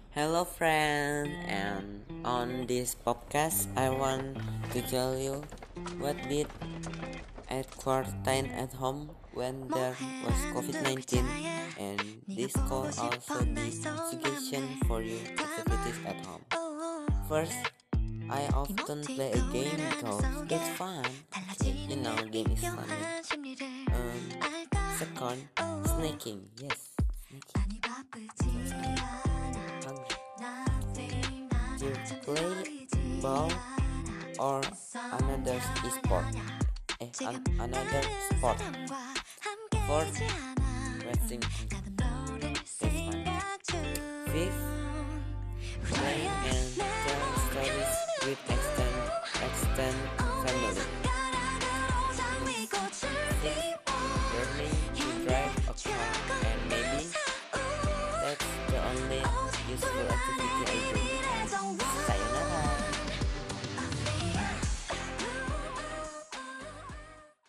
Hello, friend, and on this podcast, I want to tell you what did at quarantine at home when there was COVID-19, and this call also be suggestion for you activities at home. First, I often play a game because it's fun. Game is funny. Second, snaking. Yes, snaking. You play ball or another sport. Another sport. Fourth, racing. That's fun. Fifth, play and tell stories with extend family. Sixth, learning to drive a car, and maybe that's the only useful activity I do.